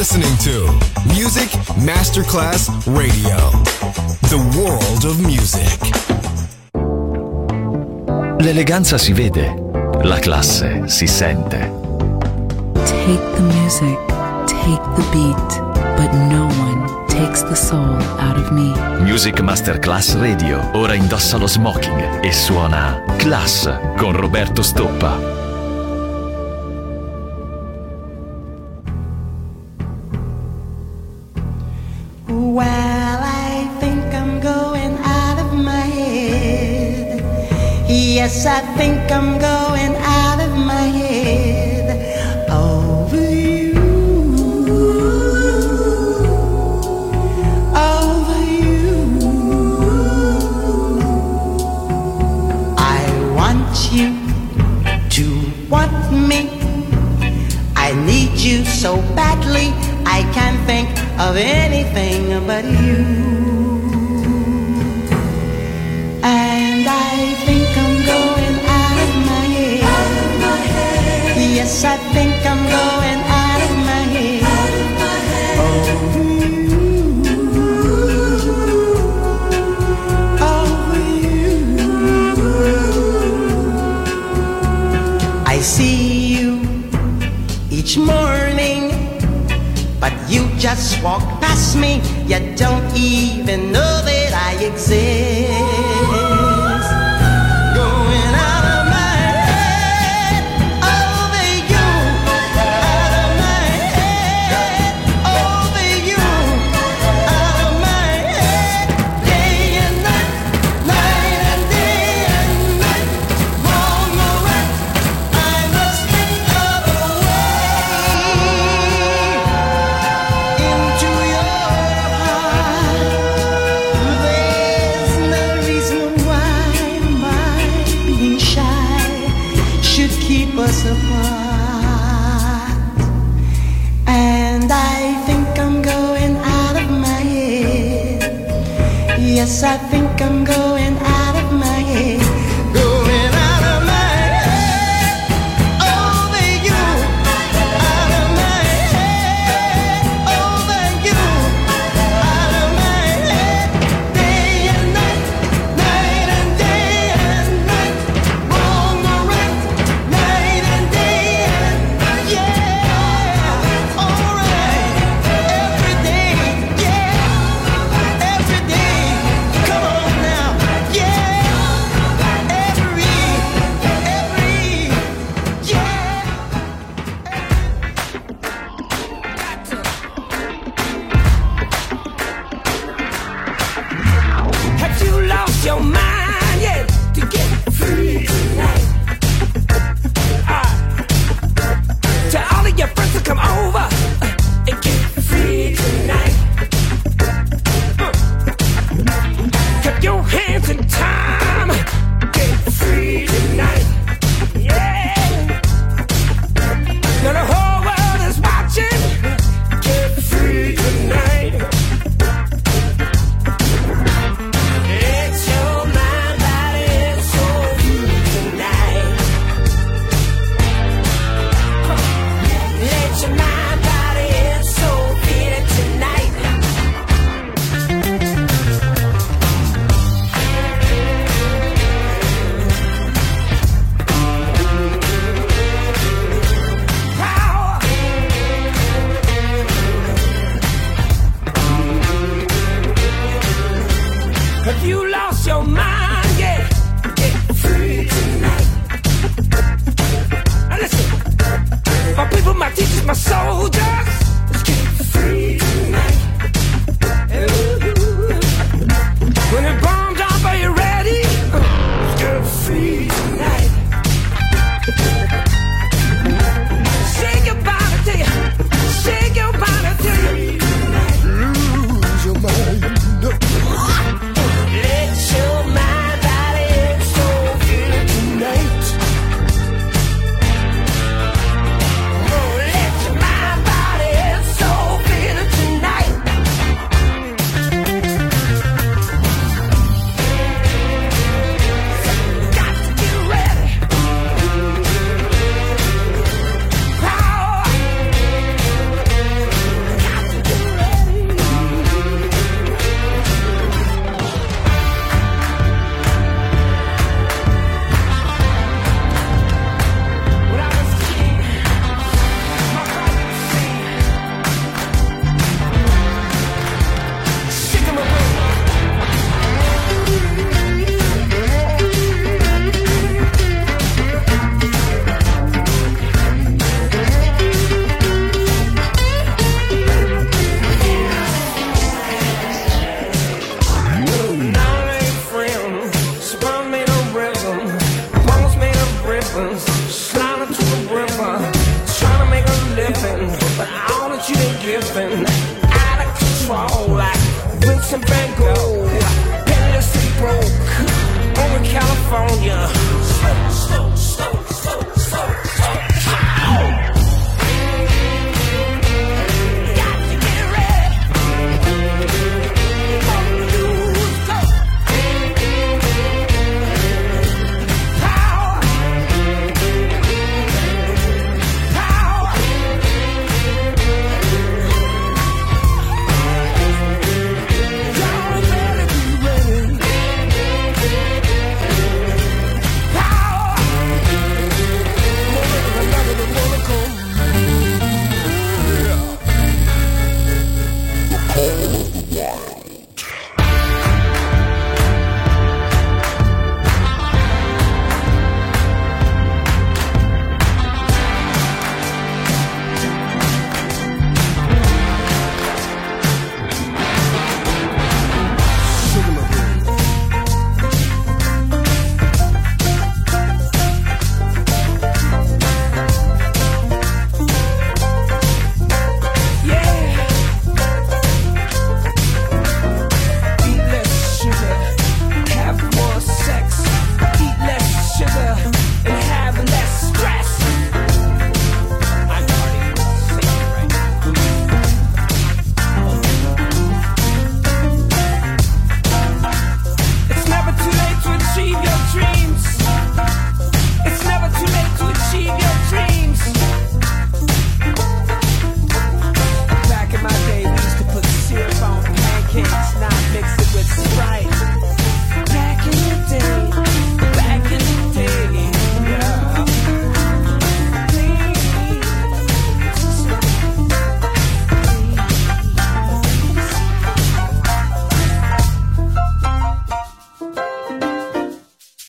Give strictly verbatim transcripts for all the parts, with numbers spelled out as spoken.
listening to Music Masterclass Radio, the world of music. L'eleganza si vede, la classe si sente. Take the music, take the beat, but no one takes the soul out of me. Music Masterclass Radio ora indossa lo smoking e suona Class con Roberto Stoppa. Well, I think I'm going out of my head. Yes, I think I'm going out of my head over you, over you. I want you to want me. I need you so badly, I can't think of anything but you. And I think I'm going out of my head. Out of my head. Yes, I think I'm going out of my head. Out of my head. Over you, over you. I see you each morning, but you just walk past me. You don't even know that I exist. Going out of my head, over you. Out of my head, over you. Out of my head, day and night, night and day and night. Wrong or right, I must think of a way into your heart. There's no reason why my being shy should keep us apart. And I think I'm going out of my head. Yes, I think I'm going out of my head. Going out of my head, over you. Out of my head, over you. Out of my head, day and night, night and day and night. Wrong or right, night and day and night. Yeah, alright. Every day, yeah. Every day, come on now, yeah. Every, every, yeah. Have you lost your mind yet to get free tonight? Ah, tell all of your friends to come over uh, and get free tonight. Uh, keep your hands in time, get free tonight. Yeah. Now the whole world is watching, get free tonight. It's your mind, body, and soul tonight. Let your mind, body, and soul feel it tonight. Power. Have you lost your mind? Yeah, get free tonight. Now listen, my people, my teachers, my soldiers, let's get free tonight. Ooh. When the bomb drop, are you ready? Uh, Let's get free tonight. Shake your body till you, shake your body till you lose your mind. Let your mind, body, and soul feel it tonight. Oh, let your mind, body,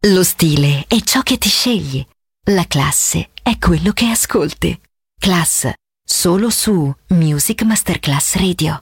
Lo stile è ciò che ti scegli. La classe è quello che ascolti. Class, solo su Music Masterclass Radio.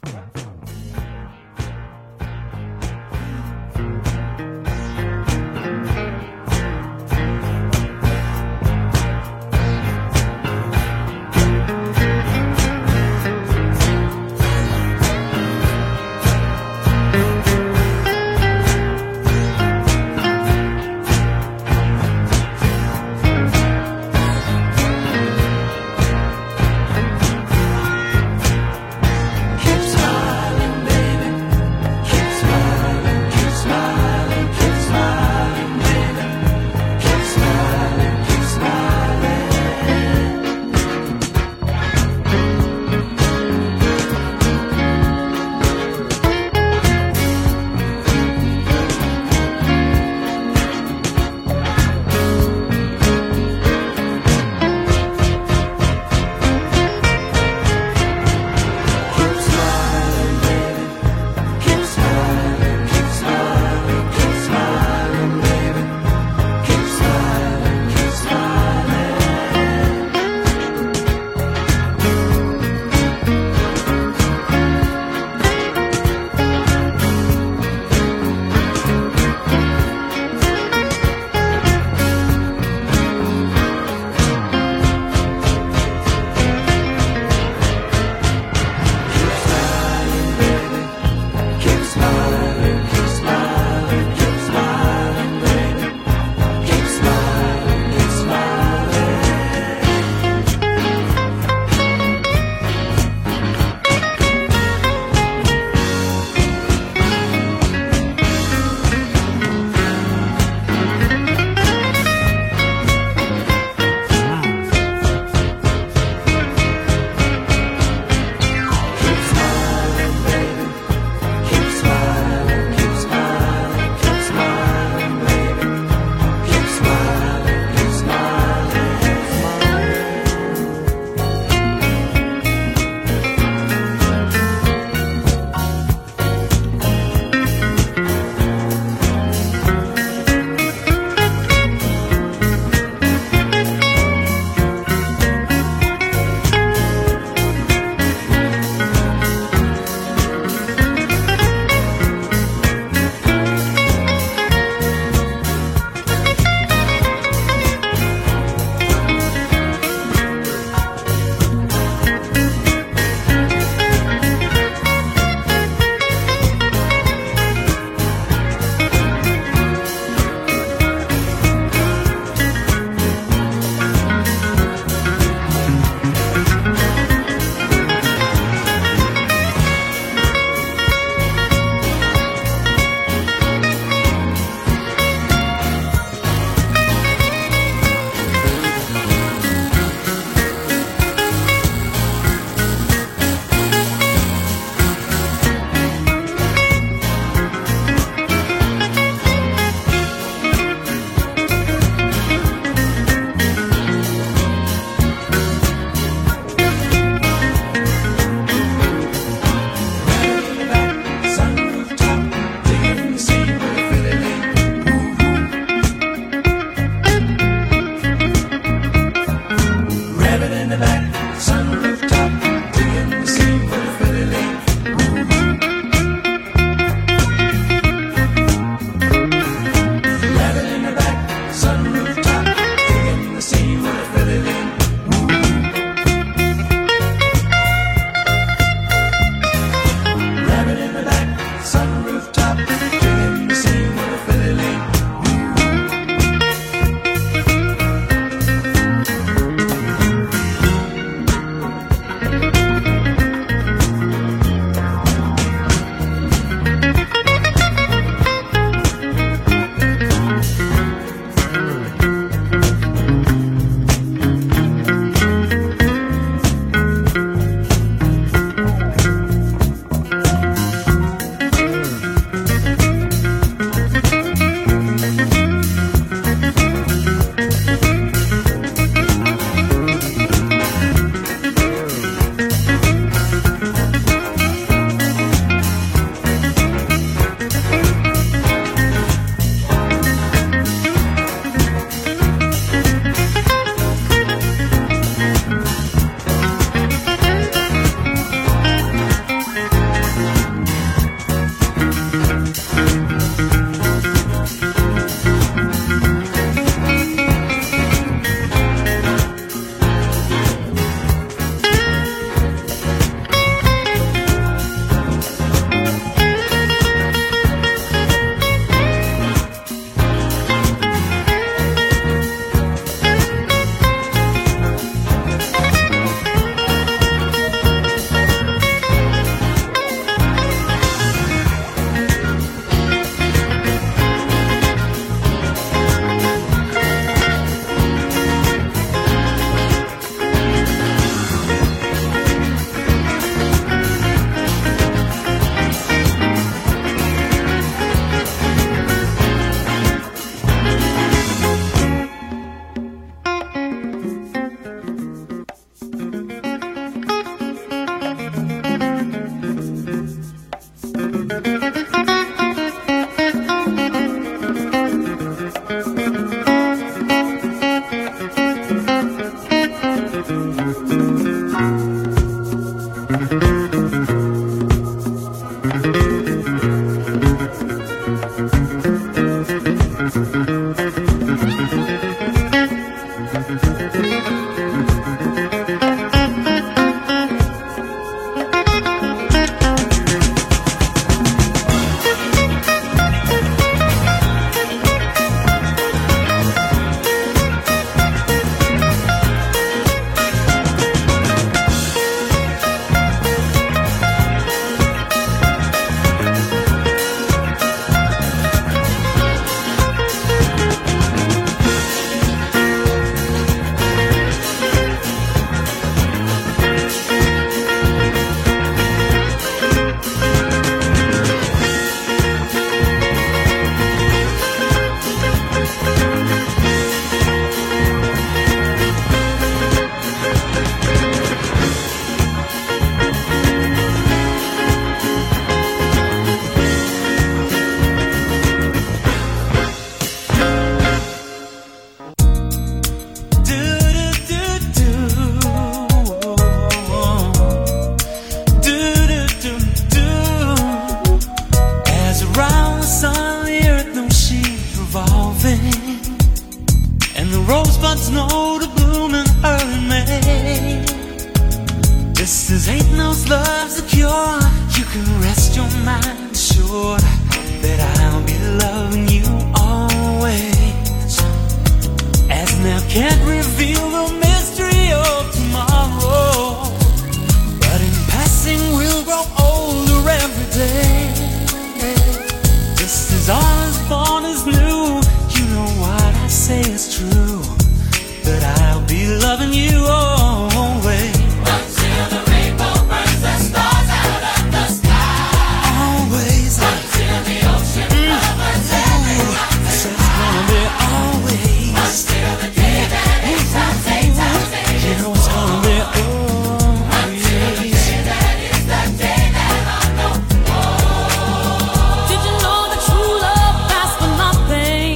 Kisses ain't no love's a cure. You can rest your mind assured that I'll be loving you always. As now can't reveal the mystery of tomorrow, but in passing we'll grow older every day. Just as all is born is new, you know what I say is true, that I'll be loving you always. Until the rainbow burns the stars out of the sky. Always. Until the ocean covers every mountain. So it's gonna be always. Until the day that age times eight times eight. You know it's gonna be always. Until the day that is the day that I know. Did you know that true love lasts for nothing?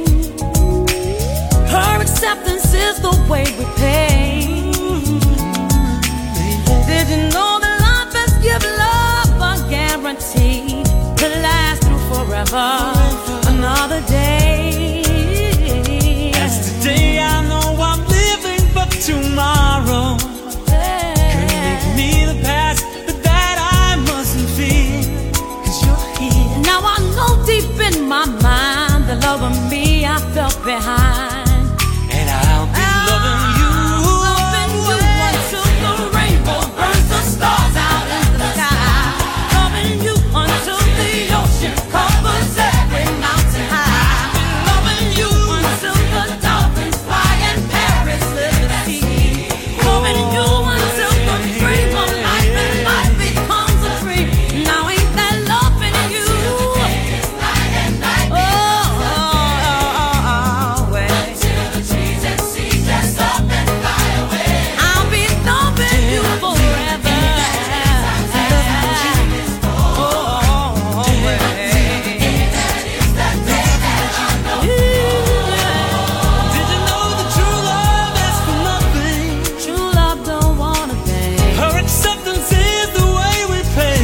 Her acceptance is the way we pay. Did you know that life has given love a guarantee to last through forever? Another day. As today I know I'm living, but tomorrow could make me the past, but that I mustn't fear, 'cause you're here. Now I know deep in my mind the love of me I felt behind. And I'll be loving you. Loving you until the rainbow burns the stars out in the sky. Loving you until the ocean covers every mountain high. Loving you until the dolphins fly and Paris live at sea. Loving you until the dream of life and life becomes a dream. Now ain't that loving you? Oh, oh, oh, oh, well. Until the trees and seas dress up and fly away. I'll be loving you forever. Oh, oh, oh, well. Did you know that true love asks for nothing? True love don't wanna pay. Her acceptance is the way we pay.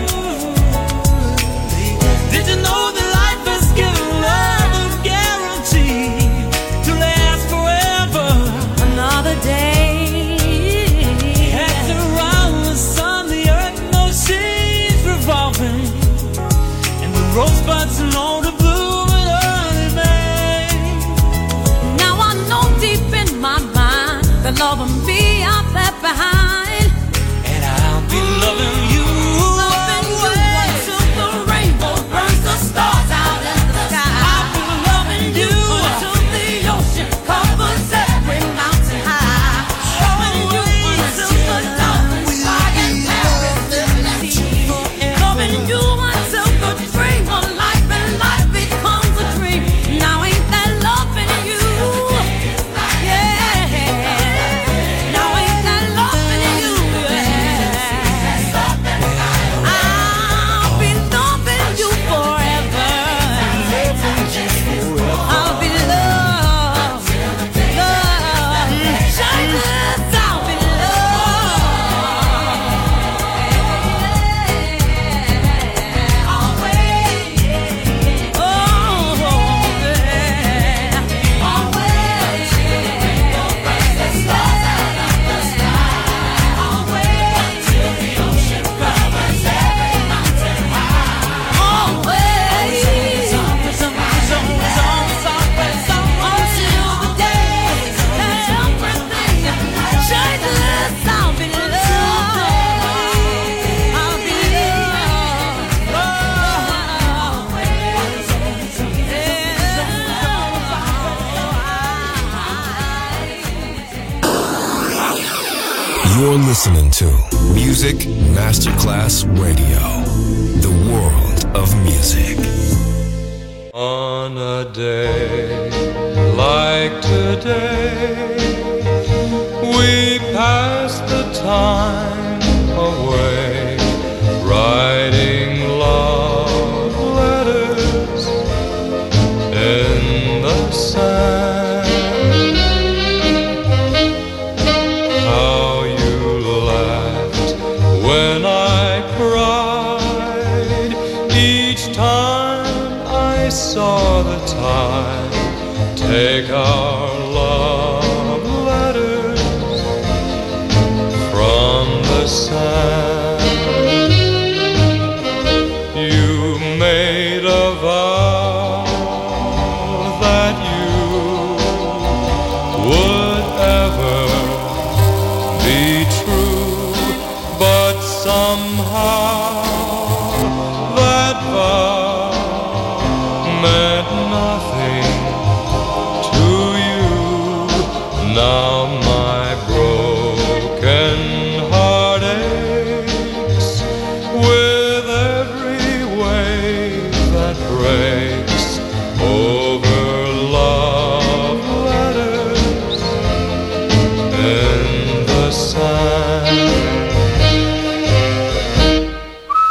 Did you know that life has given love a guarantee to last forever? Another day. Heads around the sun, the earth knows she's revolving, and the rosebuds know the bloom in early May. Now I know deep in my mind the love of me I left behind. And I'll be loving you. Loving you until the rainbow burns the stars out in the sky. I'll be loving you. Until the ocean covers every mountain high. Loving you until the dolphins fly and Paris live at sea. Loving you until the dream of life and life becomes a dream. Now ain't that loving you? Yeah. Now ain't that loving you? Yeah. I'll be loving you forever. I'll be loved, loved, Jesus, I'll be loved, always, oh, yeah, always, the stars out of the sky, always, till the ocean covers every mountain high, always, until the day that everything changes, I'll be loved, I'll be You're listening to Music Masterclass Radio, the world of music. On a day like today, we pass the time away, writing love letters in the sand. How you laughed when I cried each time I saw the time take our love letters from the sun. somehow that vow meant nothing to you. Now my broken heart aches with every wave that breaks over love letters in the sand.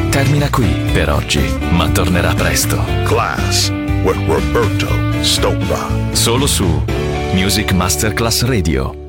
termina qui per oggi, ma tornerà presto. Class with Roberto Stoppa. Solo su Music Masterclass Radio.